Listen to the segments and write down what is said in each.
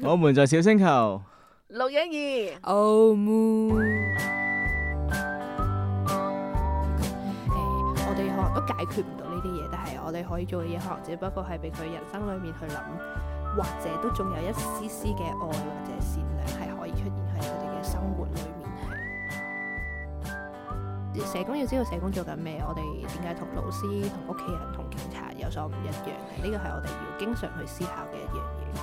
我們在小星球 612 Oh Moon。我哋可能都解決唔到呢啲嘢，但係我哋可以做嘅嘢，可能只不過係俾佢人生裏面去諗，或者都仲有一絲絲嘅愛或者善良係可以出現喺佢哋嘅生活裏面。係社工要知道社工做緊咩，我哋點解同老師、同屋企人、同警察有所唔一樣嘅？呢個係我哋要經常去思考嘅一樣嘢。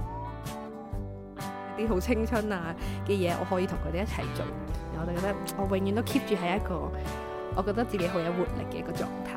啲好青春啊嘅嘢，我可以同佢哋一齊做。我哋覺得我永遠都 keep 住喺一個我覺得自己好有活力嘅一個狀態。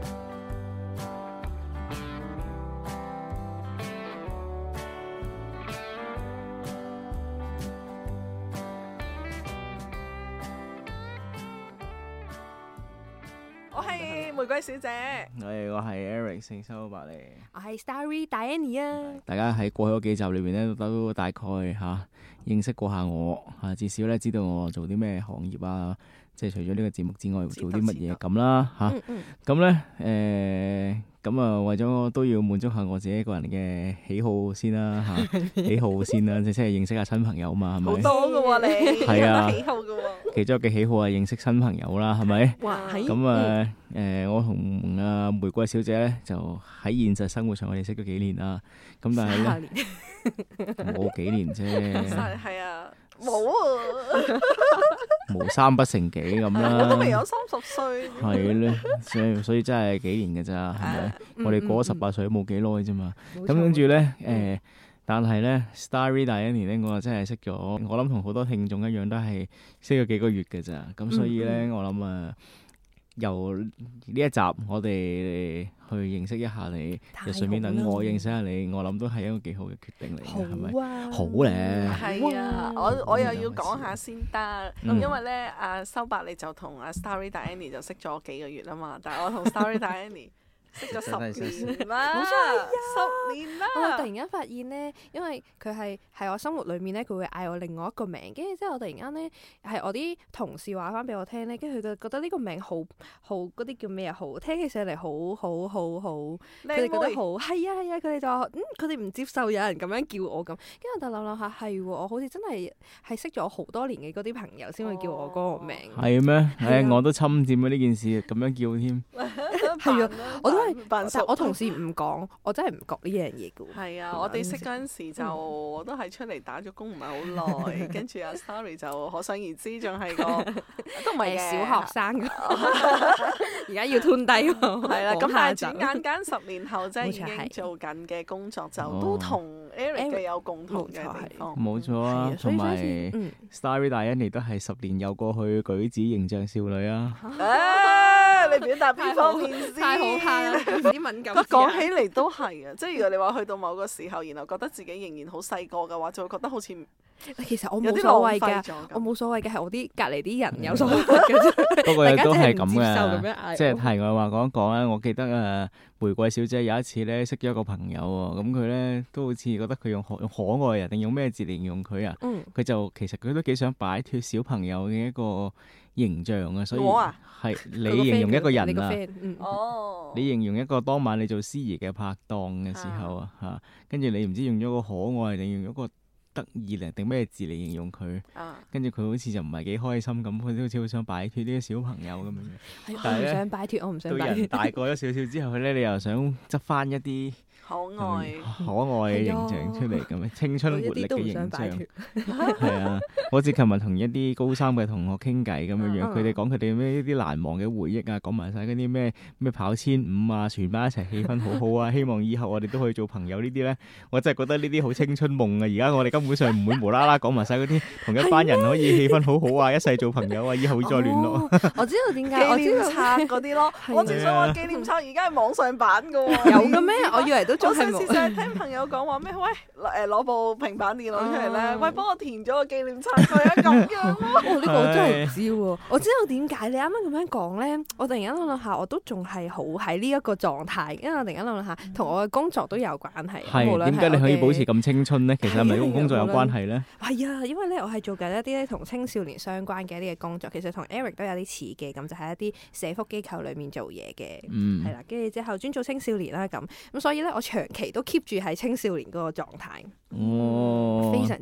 我係玫瑰小姐， 我係 Eric 聖修伯利， 我係 Starry Diana 啊！ 大家喺過去嗰幾集裏邊咧，都大概認識過下我至少咧知道我做啲咩行業啊，即係除咗呢個節目之外做啲乜嘢咁啦咁咧咁啊為咗都要滿足下我自己個人嘅喜好先啦喜好先啦，即係認識下新朋友嘛，係咪？ 好多噶喎你， 係啊， 喜好噶喎。 其中一個喜好係認識新朋友啦，係咪？咁我同玫瑰小姐咧就喺現實生活上我哋識咗幾年啦，咁但係咧冇幾年啫， 係啊，冇啊， 無三不成幾咁啦， 我都未有30歲， 係咧，所以真係幾年㗎咋，係咪？我哋過咗18歲都冇幾耐啫嘛，咁跟住咧但係咧 Starry Diana 咧，我真係識咗，我諗同好多聽眾一樣都係識咗幾個月㗎咋，咁所以咧我諗由呢一集我哋去認識一下你，就順便等我認識下你，我諗都係一個幾好嘅決定嚟嘅，係咪？好咧， 係啊，我又要講下先得，因為咧阿修伯利就同阿 Starry Diana 就識咗幾個月啊嘛，但係我同 Starry Diana識咗10年啦， 冇錯 10年啦。 我突然間發現咧，因為佢係我生活裏面咧，佢會嗌我另外一個名，跟住之後我突然間咧係我啲同事話翻俾我聽咧，跟住佢就覺得呢個名好嗰啲叫咩啊？好聽起上嚟好，佢哋覺得好係啊，佢哋就話佢哋唔接受有人咁樣叫我咁，跟住我就諗下係喎，我好似真係識咗好多年嘅嗰啲朋友先會叫我嗰個名。係咩？我都侵佔咗呢件事咁樣叫添。 係啊，我都係，但我同事唔講，我真係唔覺呢樣嘢嘅喎。 係啊，我哋識嗰陣時就我都係出嚟打咗工唔係好耐，跟住阿 Starry 就可想而知，仲係個都唔係小學生，而家要吞低喎。係啦，咁但係轉眼間10年後即係已經做緊嘅工作就都同 Eric 嘅有共同嘅地方。冇錯啊， 同埋 Starry Diana 都係10年有過去舉止形象少女啊。 你表達邊方面先？ 太好怕啦！啲敏感。 講起嚟都係啊，即係如果你話去到某個時候，然後覺得自己仍然好細個嘅話，就會覺得好似其實我冇所謂㗎，我冇所謂嘅係我啲隔離啲人有所謂嘅啫。 不過都係咁嘅，即係題外話講一講啦。我記得玫瑰小姐有一次咧識咗一個朋友喎，咁佢咧都好似覺得佢用可愛啊，定用咩字嚟形容佢啊？佢就其實佢都幾想擺脫小朋友嘅一個形象啊，所以係你形容一個人啊，你形容一個當晚你做司儀嘅拍檔嘅時候啊，跟住你唔知用咗個可愛定用咗個得意定咩字嚟形容佢，跟住佢好似就唔係幾開心咁，佢好似好想擺脫呢啲小朋友咁樣。但係咧，我唔想擺脫。到人大個咗少少之後咧，你又想執翻一啲可愛嘅形象出嚟咁樣，青春活力嘅形象。係啊，好似琴日同一啲高3嘅同學傾偈咁樣樣，佢哋講佢哋咩啲難忘嘅回憶啊，講埋晒嗰啲咩跑1500啊，全班一齊氣氛好好啊，希望以後我哋都可以做朋友呢啲咧，我真係覺得呢啲好青春夢啊！而家我哋根本上唔會無啦啦講埋晒嗰啲同一班人可以氣氛好好啊，一世做朋友啊，以後會再聯絡。我知道點解， 紀念冊嗰啲咯，我正想話紀念冊而家係網上版㗎喎。 有嘅咩？我以為都仲係冇。 我上次成日聽朋友講話咩？喂，攞部平板電腦出嚟咧，喂，幫我填咗個紀念冊佢啊，咁樣咯。呢個我真係唔知喎。我知道點解你啱啱咁樣講咧，我突然間諗下，我都仲係好喺呢一個狀態，因為我突然間諗下，同我嘅工作都有關係。 係點解你可以保持咁青春咧？其實係咪同工作有關係咧？ 係啊，因為咧我係做緊一啲咧同青少年相關嘅一啲嘅工作，其實同 Eric 都有啲似嘅，咁就喺一啲社福機構裡面做嘢嘅，係啦，跟住之後專做青少年啦咁所以咧我長期都 keep 住喺青少年嗰個狀態。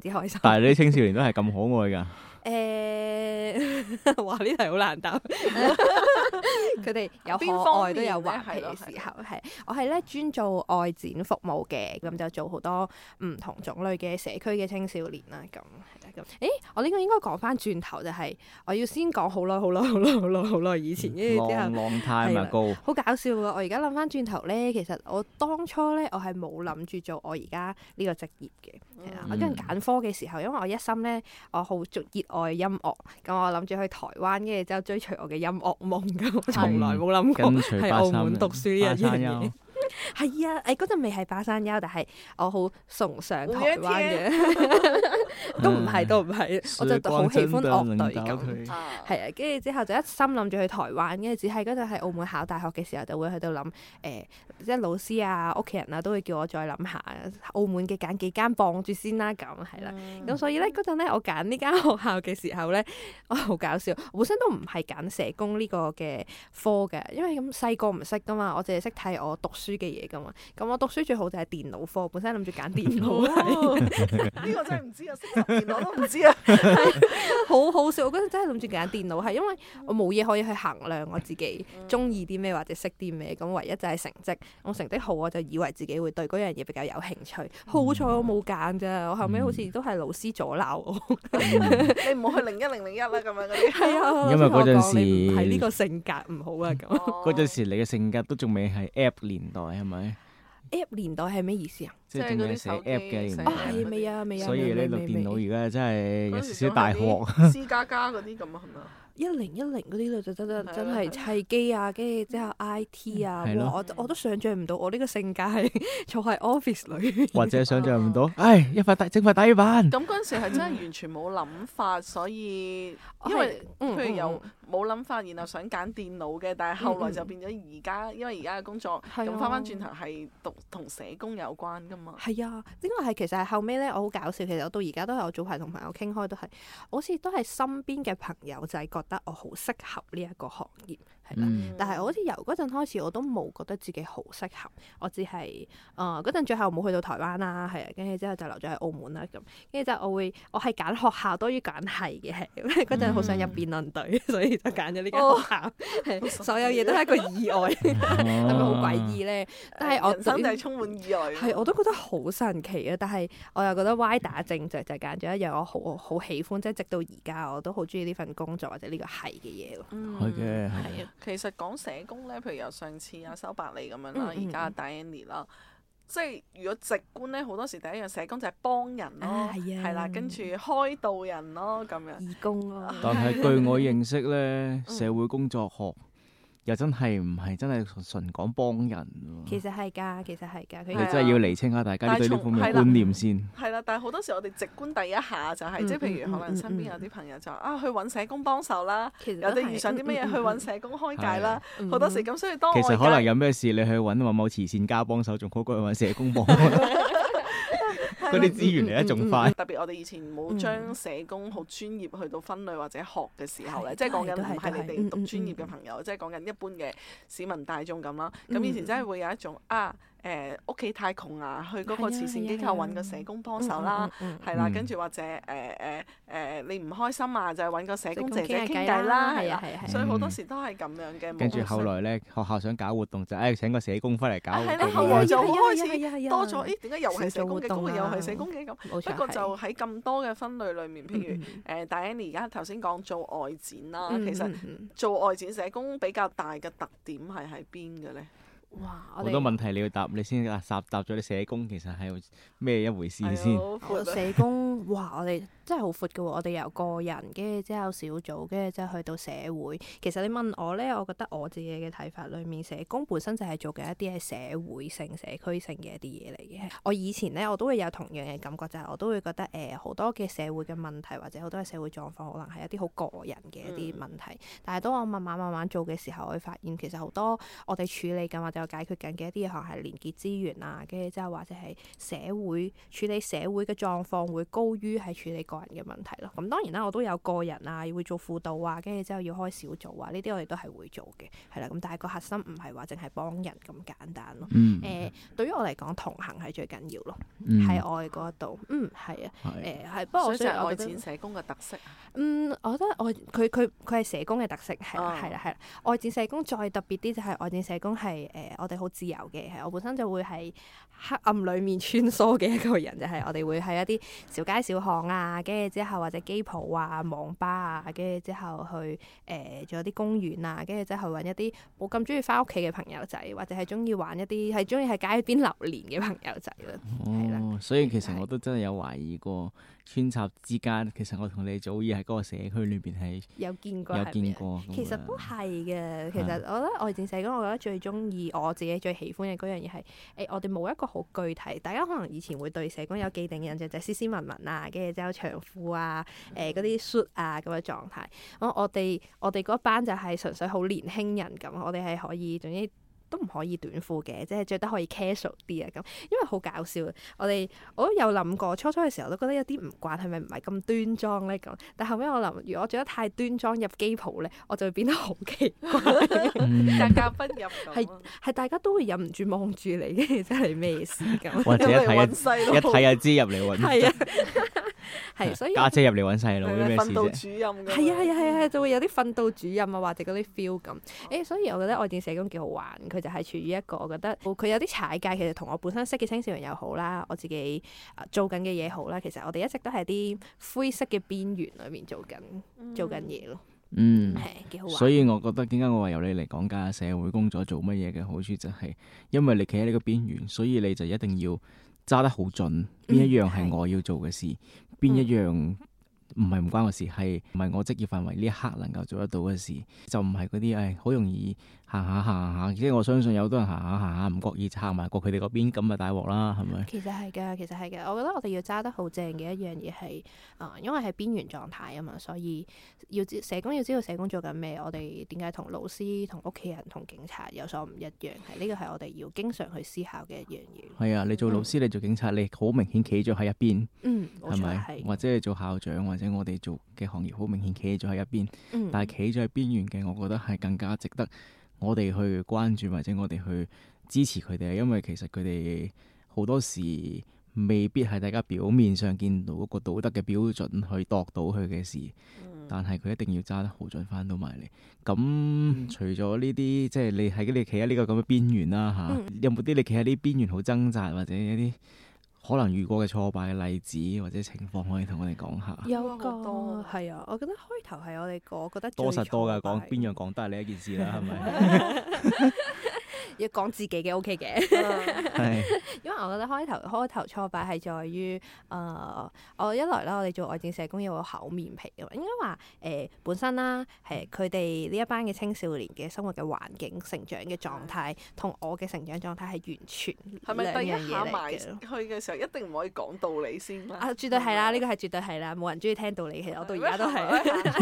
之開心。 但係你啲青少年都係咁可愛㗎？ 哇！呢題好難答。佢哋有可愛都有頑皮嘅時候，係我係咧專做愛展服務嘅，咁就做好多唔同種類嘅社區嘅青少年啦。咁係啦，咁我呢個應該講翻轉頭就係我要先講好耐以前，跟住之後 long time ago， 好搞笑㗎！我而家諗翻轉頭咧，其實我當初咧我係冇諗住做我而家呢個職業嘅，係啦。我嗰陣揀科嘅時候，因為我一心咧我好熱愛音樂，咁我諗住去台灣，跟住之後追隨我嘅音樂夢㗎，我從來冇諗過喺澳門讀書呢一樣嘢。係啊，嗰陣未係巴山丘，但係我好崇尚台灣嘅，都唔係，我就好喜歡樂隊咁，係啊，跟住之後就一心諗住去台灣，跟住只係嗰陣喺澳門考大學嘅時候就會喺度諗，即係老師啊、屋企人啊都會叫我再諗下澳門嘅揀幾間傍住先啦，咁係啦，咁所以咧嗰陣咧我揀呢間學校嘅時候咧，我好搞笑，我本身都唔係揀社工呢個嘅科嘅，因為咁細個唔識噶嘛，我淨係識睇我讀書嘅嘢噶嘛，咁我讀書最好就係電腦科，本身諗住揀電腦係， 呢個真係唔知啊，識入電腦都唔知啊， 好好笑，我嗰陣真係諗住揀電腦係，因為我冇嘢可以去衡量我自己中意啲咩或者識啲咩，咁唯一就係成績，我成績好我就以為自己會對嗰樣嘢比較有興趣，好彩我冇揀咋，我後尾好似都係老師阻撓我， 你唔好去01啦咁樣嗰啲， 係啊， 因為嗰陣時係呢個性格唔好啊咁， 嗰陣時你嘅性格都仲未係 App 年代係咪？ App 年代係咩意思啊？ 即係仲係寫 App 嘅年代。 係未啊？ 所以呢度電腦而家真係有少少大鑊。 C++ 嗰啲咁啊，係咪啊 ？1010嗰啲就真係砌機啊，跟住之後 IT 啊，哇！我都想像唔到我呢個性格係坐喺 office 裏， 或者想像唔到，整塊打魚板。 咁嗰陣時係真係完全冇諗法，所以因為譬如有冇諗法，然後想揀電腦嘅，但係後來就變咗而家，因為而家嘅工作咁翻轉頭係讀同社工有關㗎嘛。係啊，呢個係其實係後尾咧，我好搞笑。其實我到而家都係我早排同朋友傾開，都係好似都係身邊嘅朋友就係覺得我好適合呢一個行業，係啦。但係我好似由嗰陣開始，我都冇覺得自己好適合。我只係嗰陣最後冇去到台灣啦，係啊，跟住之後就留咗喺澳門啦咁。跟住就我係揀學校多於揀系嘅，係嗰陣好想入辯論隊，所以就揀咗呢間學校。所有嘢都係一個意外，係咪好詭異咧？但係我人生就係充滿意外。 係，我都覺得好神奇啊！但係我又覺得歪打正着就揀咗一樣我好喜歡，即係直到而家我都好中意呢份工作或者呢個係嘅嘢咯。 係嘅， 係啊。其實講社工咧，譬如由上次阿修伯利咁樣啦，而家阿 Diane 啦，即係如果直觀咧，好多時第一樣社工就係幫人咯，係啦，跟住開導人咯，咁樣義工咯。 但係據我認識咧，社會工作學又真係唔係真係純講幫人喎。 其實係㗎， 你真係要釐清下大家對呢方面嘅觀念先。 係啦，但係好多時我哋直觀第一下就係，即係譬如可能身邊有啲朋友就去揾社工幫手啦，有啲遇上啲乜嘢去揾社工開解啦，好多時咁，所以當其實可能有咩事你去揾某慈善家幫手，仲好過去揾社工幫。嗰啲資源嚟得仲快。 特別我哋以前冇將社工好專業去到分類或者學嘅時候咧，即係講緊唔係你哋讀專業嘅朋友，即係講緊一般嘅市民大眾咁啦。咁以前真係會有一種屋企太窮啊，去嗰個慈善機構揾個社工幫手啦，係啦，跟住或者你唔開心啊，就係揾個社工姐姐傾偈啦，係啊，所以好多時都係咁樣嘅。 跟住後來咧，學校想搞活動就請個社工翻嚟搞活動。 係啦，後來就開始多咗，點解又係社工嘅？嗰個又係社工嘅咁。不過就喺咁多嘅分類裏面，譬如Diane而家頭先講做外展啦，其實做外展社工比較大嘅特點係喺邊嘅咧？ 哇！ 好多問題你要答，你先答咗你社工其實係咩一回事先？ 社工哇！我哋真係好闊㗎喎，我哋由個人跟住之後小組，跟住之後去到社會。其實你問我咧，我覺得我自己嘅睇法裏面，社工本身就係做緊一啲係社會性、社區性嘅一啲嘢嚟嘅。我以前咧，我都會有同樣嘅感覺，就係我都會覺得好多嘅社會嘅問題或者好多嘅社會狀況，可能係一啲好個人嘅一啲問題。但係當我慢慢做嘅時候，我會發現其實好多我哋處理緊或者解決緊嘅一啲可能係連結資源啊，跟住之後或者係社會處理社會嘅狀況會高高於係處理個人嘅問題咯。咁當然啦，我都有個人啊，會做輔導啊，跟住之後要開小組啊，呢啲我哋都係會做嘅，係啦。咁但係個核心唔係話淨係幫人咁簡單咯。對於我嚟講，同行係最緊要咯，喺我嘅嗰度。係啊，係。不過我所以愛展社工嘅特色。 我覺得佢係社工嘅特色，係啦。愛展社工再特別啲就係愛展社工係我哋好自由嘅，係我本身就會係黑暗裡面穿梭嘅一個人，就係我哋會喺一啲小街小巷啊，跟住之後或者機鋪啊、網吧啊，跟住之後去仲有啲公園啊，跟住之後揾一啲冇咁中意翻屋企嘅朋友仔，或者係中意玩一啲係中意喺街邊流連嘅朋友仔啦。係啦， 所以其實我都真係有懷疑過穿插之間，其實我同你早已喺嗰個社區裏邊係有見過。其實都係嘅。其實我覺得愛展社工，我覺得最中意我自己最喜歡嘅嗰樣嘢係我哋冇一個好具體，大家可能以前會對社工有既定嘅印象就係斯斯文文啊，跟住之後長褲啊，嗰啲 suit 啊咁嘅狀態。我哋嗰班就係純粹好年輕人咁，我哋係可以總之都唔可以短褲嘅，即係着得可以 casual 啲啊咁，因為好搞笑。我都有諗過，初嘅時候都覺得有啲唔慣，係咪唔係咁端莊咧咁？但後尾我諗，如果我着得太端莊入機鋪咧，我就會變得好奇怪，格格不入咁。係大家都會忍唔住望住你，跟住真係咩事咁？ 或者一睇就知入嚟揾。係啊， 係所以家姐入嚟揾細佬啲咩事啫？ 訓導主任係啊，就會有啲訓導主任啊，或者嗰啲 feel 咁。所以我覺得愛展社工幾好玩。佢就係處於一個我覺得佢有啲踩界，其實同我本身識嘅青少年又好啦，我自己做緊嘅嘢好啦，其實我哋一直都係啲灰色嘅邊緣裏面做緊嘢咯。係幾好玩。所以我覺得點解我話由你嚟講解社會工作做乜嘢嘅好處，就係因為你企喺呢個邊緣，所以你就一定要揸得好準，邊一樣係我要做嘅事，邊一樣唔係唔關我事，係唔係我職業範圍呢一刻能夠做得到嘅事，就唔係嗰啲好容易行下，即係我相信有好多人行下唔覺意行埋過佢哋嗰邊，咁啊大鑊啦，係咪？其實係㗎，我覺得我哋要揸得好正嘅一樣嘢係因為係邊緣狀態啊嘛，所以社工要知道社工做緊咩，我哋點解同老師、同屋企人、同警察有所唔一樣，係呢個係我哋要經常去思考嘅一樣嘢。係啊，你做老師，你做警察，你好明顯企咗喺一邊，係咪？或者你做校長，或者我哋做嘅行業好明顯企咗喺一邊，但係企咗喺邊緣嘅，我覺得係更加值得我哋去關注，或者我哋去支持佢哋，因為其實佢哋好多時未必係大家表面上見到嗰個道德嘅標準去度到佢嘅事，但係佢一定要揸得好準翻到埋嚟。咁除咗呢啲，即係你企喺呢個咁嘅邊緣啦，有冇啲你企喺呢邊緣好掙扎，或者一啲可能遇過嘅挫敗嘅例子或者情況，可以同我哋講下？ 有個係啊，我覺得開頭係我覺得多實多㗎，講邊樣講都係你一件事啦，係咪？ 要講自己嘅 OK 嘅，因為我覺得開頭挫敗係在於我一來啦，我哋做愛展社工要厚面皮嘅，應該話本身啦，佢哋呢一班嘅青少年嘅生活嘅環境、成長嘅狀態，同我嘅成長狀態係完全兩樣嘢嚟嘅。係咪第一下埋去嘅時候一定唔可以講道理先啦？ 絕對係啦，呢個係絕對係啦，冇人中意聽道理，其實我到而家都係。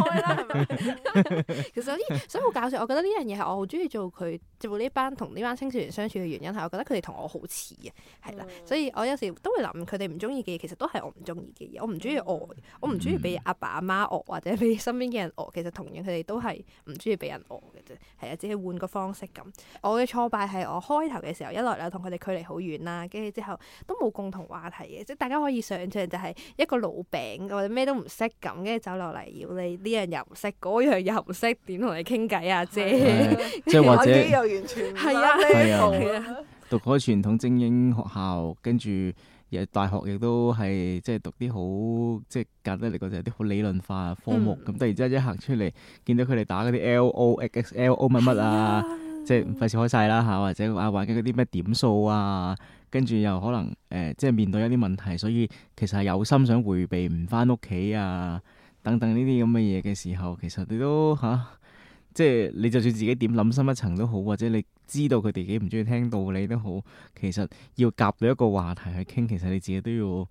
其實所以好搞笑，我覺得呢樣嘢係我好中意做呢班同呢班青少年相處嘅原因係，我覺得佢哋同我好似啊，係啦，所以我有時都會諗佢哋唔中意嘅嘢，其實都係我唔中意嘅嘢。我唔中意我唔中意俾阿爸阿媽餓，或者俾身邊嘅人餓。其實同樣佢哋都係唔中意俾人餓嘅啫，係啊，只係換個方式咁。我嘅挫敗係我開頭嘅時候，一來同佢哋距離好遠啦，跟住之後都冇共同話題嘅，即係大家可以想象就係一個老餅或者咩都唔識咁，跟住走落嚟要你呢樣又唔識，嗰樣又唔識，點同你傾偈啊姐？ 即係或者又完全係啊。 讀開傳統精英學校，跟住大學亦都係即係讀啲好即係簡單嚟講就係啲好理論化科目。咁突然之間一行出嚟，見到佢哋打嗰啲 LO、XXLO 乜乜啊，即係費事開晒啦嚇，或者玩緊嗰啲咩點數啊，跟住又可能即係面對一啲問題，所以其實係有心想迴避唔翻屋企啊等等呢啲咁嘅嘢嘅時候，其實你都即係你就算自己點諗深一層都好，或者你知道佢哋幾唔中意聽道理都好，其實要夾到一個話題去傾，其實你自己都要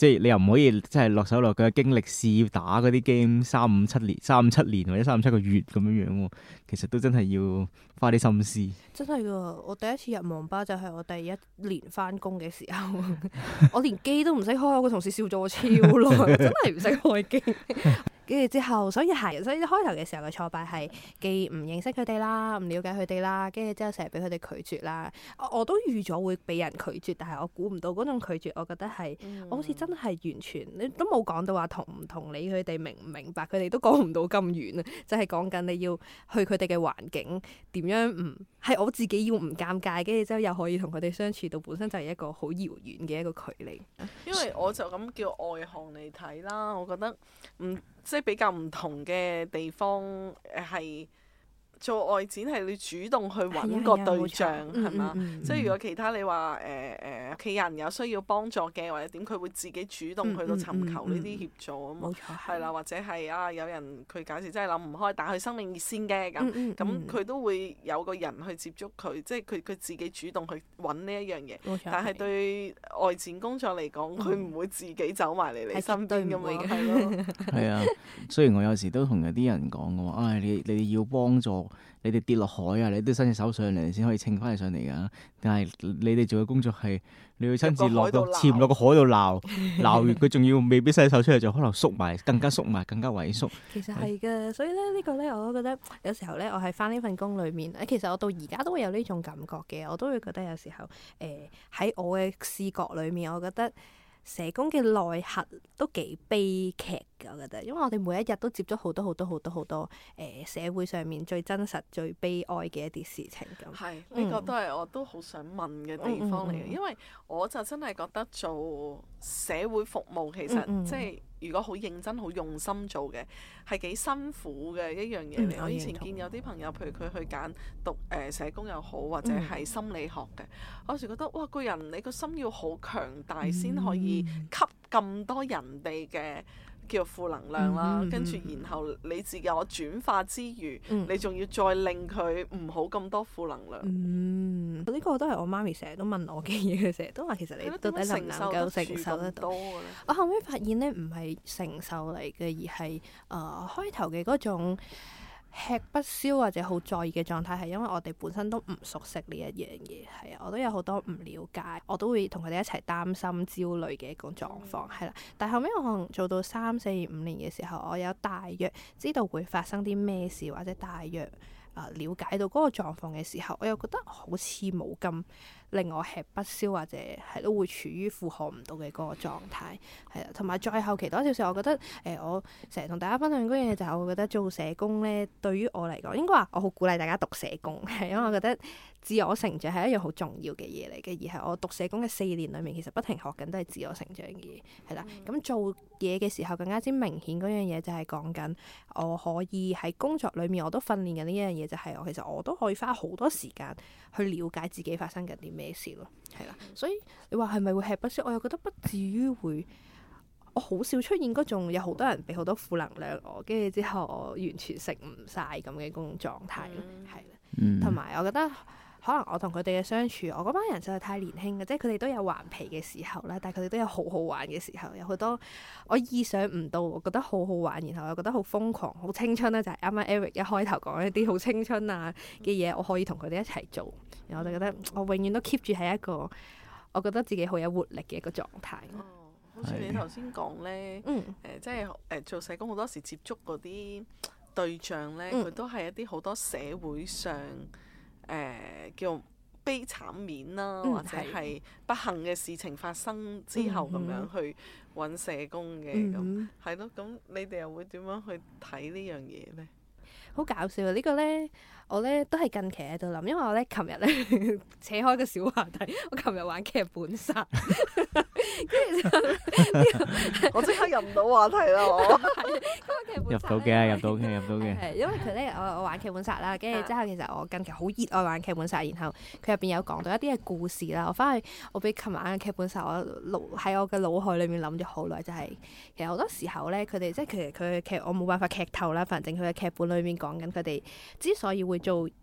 即係你又唔可以即係落手落腳經歷試打嗰啲 game 3-5-7年或者3-5-7個月咁樣樣喎，其實都真係要花啲心思。 真係噶，我第一次入網吧就係我第一年翻工嘅時候，我連機都唔識開，我個同事笑咗我超耐，我真係唔識開機。跟住之後，所以開頭嘅時候嘅挫敗係既唔認識佢哋啦，唔了解佢哋啦，跟住之後成日俾佢哋拒絕啦。我都預咗會俾人拒絕，但係我估唔到嗰種拒絕，我覺得係我好似真係完全你都冇講到話同唔同理佢哋明唔明白，佢哋都講唔到咁遠啊！就係講緊你要去佢哋嘅環境點樣唔係我自己要唔尷尬，跟住之後又可以同佢哋相處到，本身就係一個好遙遠嘅一個距離。 因為我就咁叫外行嚟睇啦，我覺得即係比較唔同嘅地方係做外展係你主動去揾個對象係嘛？即係如果其他你話屋企人有需要幫助嘅或者點，佢會自己主動去到尋求呢啲協助啊嘛。冇錯，係啦，或者係有人佢假設真係諗唔開，打去生命熱線嘅咁佢都會有個人去接觸佢，即係佢自己主動去揾呢一樣嘢。但係對外展工作嚟講，佢唔會自己走埋嚟你身邊咁樣，係咯。係啊，雖然我有時都同有啲人講嘅話，你哋要幫助。你哋跌落海啊！你都伸隻手上嚟先可以稱翻你上嚟㗎。但係你哋做嘅工作係你要親自潛落個海度鬧完佢，仲要未必伸手出嚟，就可能縮埋，更加萎縮。其實係嘅，所以咧呢個咧我都覺得有時候咧，我係翻呢份工裏面，其實我到而家都會有呢種感覺嘅。我都會覺得有時候喺我嘅視覺裏面，我覺得社工嘅內核都幾悲劇㗎，我覺得，因為我哋每一日都接觸好多社會上面最真實、最悲哀嘅一啲事情咁。係，呢個都係我都好想問嘅地方嚟嘅，因為我就真係覺得做社會服務其實即係如果好認真、好用心做嘅，係幾辛苦嘅一樣嘢嚟。我以前見有啲朋友，譬如佢去揀讀社工又好，或者係心理學嘅，我有時覺得哇，個人你個心要好強大先可以吸咁多人哋嘅叫負能量啦，跟住然後你自己有轉化之餘，你仲要再令佢唔好咁多負能量。呢個都係我媽咪成日都問我嘅嘢，佢成日都話其實你到底能唔能夠承受得到？我後尾發現咧，唔係承受嚟嘅，而係開頭嘅嗰種吃不消或者好在意嘅狀態，係因為我哋本身都唔熟悉呢一樣嘢，係啊，我都有好多唔了解，我都會同佢哋一齊擔心、焦慮嘅一個狀況，係啦。但係後尾我可能做到3、4、5年嘅時候，我有大約知道會發生啲咩事，或者大約了解到嗰個狀況嘅時候，我又覺得好似冇咁令我吃不消，或者係都會處於負荷唔到嘅嗰個狀態，係啦。同埋再後期多少少，我覺得我成日同大家分享嗰樣嘢就係，我覺得做社工咧，對於我嚟講，應該話我好鼓勵大家讀社工，係因為我覺得自我成長係一樣好重要嘅嘢嚟嘅，而係我讀社工嘅4年裏面，其實不停學緊都係自我成長嘅嘢，係啦。咁做嘢嘅時候更加之明顯嗰樣嘢就係講緊我可以喺工作裏面我都訓練緊呢一樣嘢，就係其實我都可以花好多時間去了解自己發生緊啲咩事咯，係啦。所以你話係咪會吃不消？我又覺得不至於會，我好少出現嗰種有好多人俾好多負能量我，跟住之後我完全食唔晒咁嘅嗰種狀態咯，係啦。同埋我覺得可能我同佢哋嘅相處，我嗰班人實在太年輕嘅，即係佢哋都有頑皮嘅時候啦，但係佢哋都有好好玩嘅時候，有好多我意想唔到，我覺得好好玩，然後又覺得好瘋狂、好青春咧，就係啱啱 Eric 一開頭講一啲好青春啊嘅嘢，我可以同佢哋一齊做，然後我就覺得我永遠都 keep 住係一個我覺得自己好有活力嘅一個狀態。 好似你頭先講咧，即係做社工好多時接觸嗰啲對象咧，佢都係一啲好多社會上叫悲慘面啦，或者係不幸嘅事情發生之後咁樣去揾社工嘅，咁係咯。咁你哋又會點樣去睇呢樣嘢咧？ 好搞笑啊！呢個咧，我咧都係近期喺度諗，因為我咧琴日咧扯開個小話題，我琴日玩劇本殺，跟住之後我即刻入唔到話題啦，我入到嘅， 係因為佢咧，我玩劇本殺啦，跟住之後其實我近期好熱愛玩劇本殺，然後佢入邊有講到一啲嘅故事啦，我翻去我俾琴晚嘅劇本殺，我喺我嘅腦海裏面諗咗好耐，就係其實好多時候咧，佢哋即係其實佢嘅劇我冇辦法劇透啦，反正佢嘅劇本裏面講緊佢哋之所以會做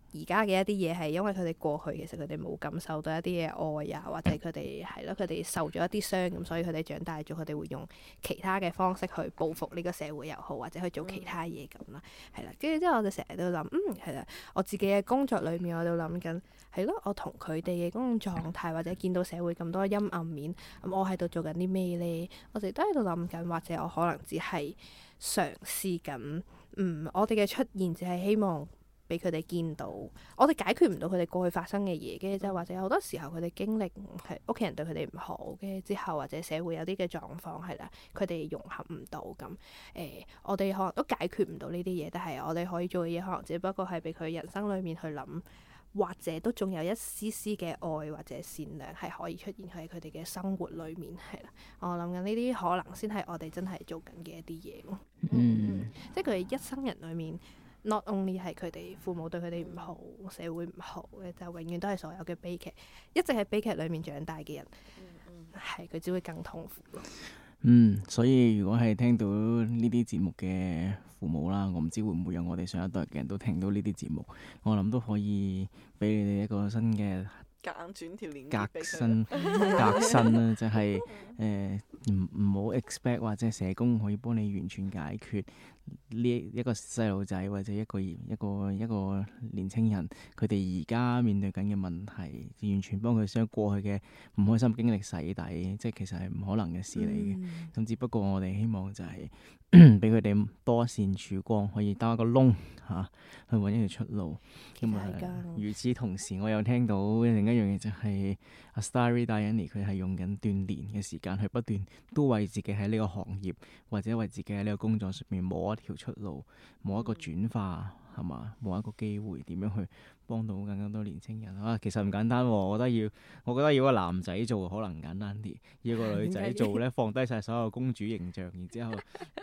而家嘅一啲嘢係因為佢哋過去其實佢哋冇感受到一啲嘅愛啊，或者佢哋係咯，佢哋受咗一啲傷咁，所以佢哋長大咗，佢哋會用其他嘅方式去報復呢個社會又好，或者去做其他嘢咁啦，係啦。跟住之後我哋成日都諗，係啦，我自己嘅工作裏面我都諗緊，係咯，我同佢哋嘅嗰種狀態，或者見到社會咁多陰暗面，咁我喺度做緊啲咩咧？我哋都喺度諗緊，或者我可能只係嘗試緊，我哋嘅出現只係希望俾佢哋見到，我哋解決唔到佢哋過去發生嘅嘢嘅，即係或者好多時候佢哋經歷係屋企人對佢哋唔好嘅之後，或者社會有啲嘅狀況係啦，佢哋融合唔到咁，我哋可能都解決唔到呢啲嘢，但係我哋可以做嘅嘢，可能只不過係俾佢人生裡面去諗，或者都仲有一絲絲嘅愛或者善良係可以出現喺佢哋嘅生活裡面係啦。我諗緊呢啲可能先係我哋真係做緊嘅一啲嘢咯。即係佢哋一生人裡面。Not only 係佢哋父母對佢哋唔好，社會唔好嘅，就永遠都係所有嘅悲劇，一直喺悲劇裏面長大嘅人，係佢只會更痛苦咯。 所以如果係聽到呢啲節目嘅父母啦，我唔知會唔會有我哋上一代嘅人都聽到呢啲節目，我諗都可以俾你哋一個新嘅夾硬轉條鏈革新啦，就係唔好 expect 或者社工可以幫你完全解決呢一個細路仔或者一個年青人佢哋而家面對緊嘅問題，完全幫佢將過去嘅唔開心經歷洗底，即係其實係唔可能嘅事嚟嘅。咁只不過我哋希望就係俾佢哋多一線曙光，可以兜一個窿去揾一條出路。咁與此同時，我又聽到另一樣嘢就係阿 Starry Diana 佢係用緊鍛鍊嘅時間去不斷都為自己喺呢個行業或者為自己喺呢個工作上面摸一條出路，摸一個轉化係嘛，摸一個機會，點樣去幫到更加多年青人啊？其實唔簡單喎，我覺得要個男仔做可能簡單啲，要個女仔做咧放低晒所有公主形象，然之後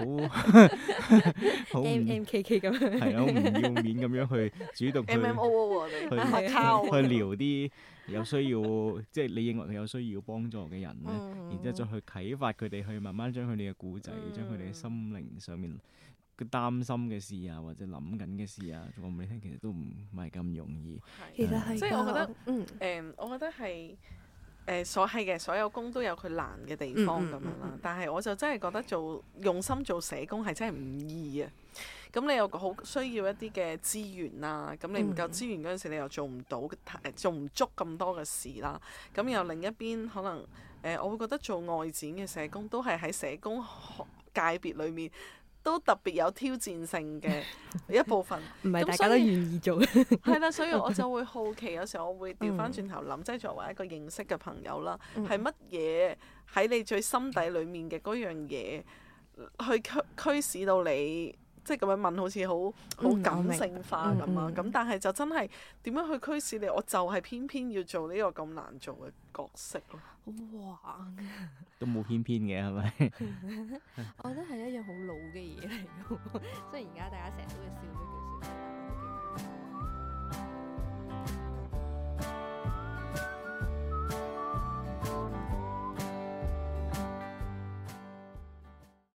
好 MKK 咁樣， 係啊，好唔要面咁樣去主動去去聊啲有需要，即係你認為佢有需要幫助嘅人咧，然之後再去啟發佢哋去慢慢將佢哋嘅故仔，將佢哋嘅心靈上面佢擔心嘅事啊，或者諗緊嘅事啊，講俾你聽，其實都唔係咁容易。 其實係， 即係我覺得，我覺得係所有工都有佢難嘅地方咁樣啦。但係我就真係覺得用心做社工係真係唔易啊。咁你又好需要一啲嘅資源啦，咁你唔夠資源嗰陣時，你又做唔足咁多嘅事啦。咁又另一邊可能我會覺得做外展嘅社工都係喺社工界別裡面都特別有挑戰性嘅一部分， 唔係大家都願意做。 係啦，所以我就會好奇，有時候我會調翻轉頭諗，即係作為一個認識嘅朋友啦，係乜嘢喺你最心底裡面嘅嗰樣嘢，去驅使到你，即係咁樣問，好似好感性化咁啊！咁但係就真係點樣去驅使你？我就係偏偏要做呢個咁難做嘅角色咯。 哇！ 都冇偏偏嘅係咪？ 我覺得係一樣好老嘅嘢嚟嘅，雖然而家大家成日都會笑呢句説話。